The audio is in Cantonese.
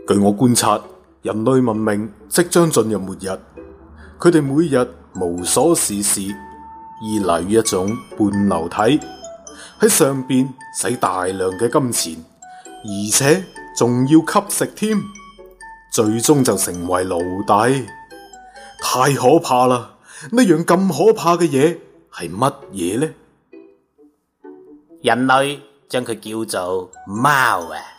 據我觀察，人類文明即將進入末日。佢哋每日無所事事，依賴於一種半導體，喺上邊使大量嘅金錢，而且仲要吸食添，最終就成為奴隸。太可怕啦！呢樣咁可怕嘅嘢係乜嘢呢？ 人類將佢叫做貓啊！